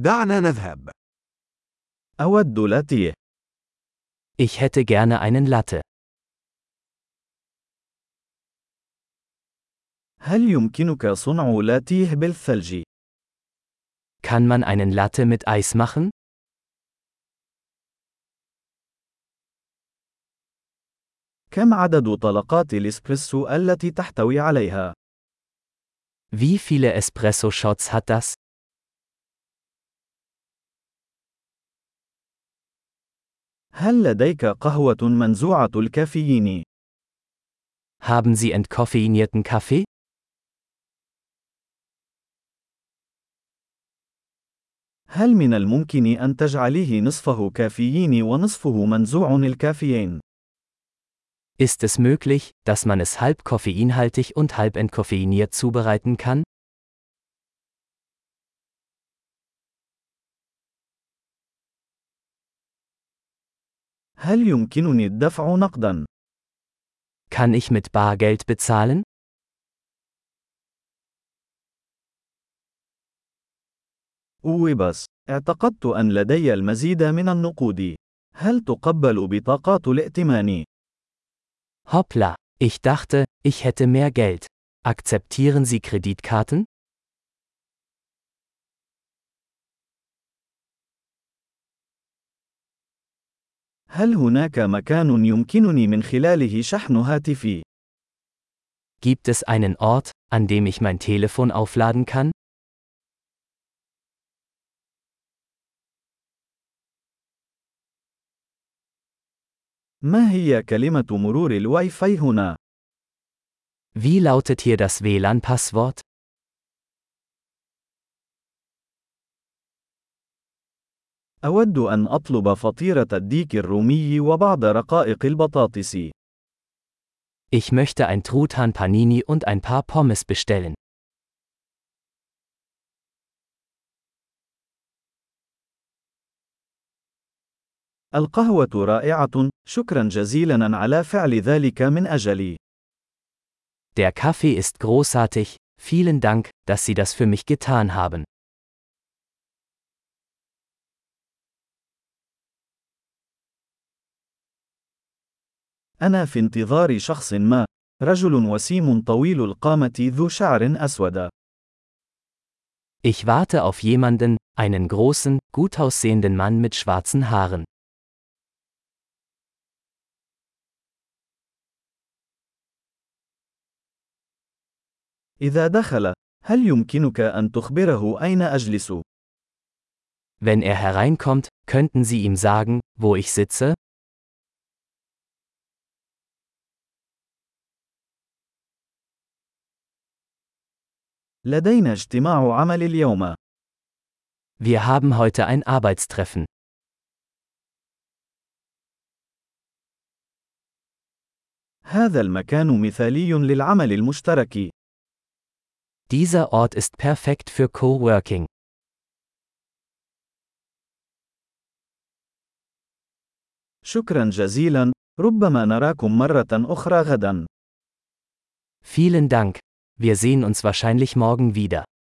دعنا نذهب. أود لاتيه. Ich hätte gerne einen Latte. هل يمكنك صنع لاتيه بالثلج؟ Kann man einen Latte mit Eis machen? كم عدد طلقات الإسبريسو التي تحتوي عليها؟ Wie viele Espresso-Shots hat das? هل لديك قهوة منزوعة الكافيين؟ Haben Sie entkoffeinierten Kaffee? هل من الممكن أن تجعليه نصفه كافيين ونصفه منزوع الكافيين؟ Ist es möglich, dass man es halb koffeinhaltig und halb entkoffeiniert zubereiten kann? هل يمكنني الدفع نقداً؟ Kann ich mit Bargeld bezahlen? بس اعتقدت أن لدي المزيد من النقود. هل تقبل بطاقات الائتمان؟ Hoppla, ich dachte, ich hätte mehr Geld. Akzeptieren Sie Kreditkarten? هل هناك مكان يمكنني من خلاله شحن هاتفي؟ Gibt es einen Ort, an dem ich mein Telefon aufladen kann? ما هي كلمة مرور الواي فاي هنا؟ Wie lautet hier das WLAN-Passwort? أود أن أطلب فطيرة الديك الرومي وبعض رقائق البطاطس. Ich möchte ein Truthahn Panini und ein paar Pommes bestellen. القهوة رائعة، شكرا جزيلا على فعل ذلك من أجلي. Der Kaffee ist großartig, vielen Dank, dass Sie das für mich getan haben. أنا في انتظار شخص ما، رجل وسيم طويل القامة ذو شعر أسود. Ich warte auf jemanden, einen großen, gut aussehenden Mann mit schwarzen Haaren. إذا دخل، هل يمكنك أن تخبره أين أجلس؟ Wenn er hereinkommt, könnten Sie ihm sagen, wo ich sitze? لدينا اجتماع عمل اليوم. Wir haben heute ein Arbeitstreffen. هذا المكان مثالي للعمل المشترك. Dieser Ort ist perfekt für Coworking. شكرا جزيلا، ربما نراكم مرة أخرى غدا. Vielen Dank. Wir sehen uns wahrscheinlich morgen wieder.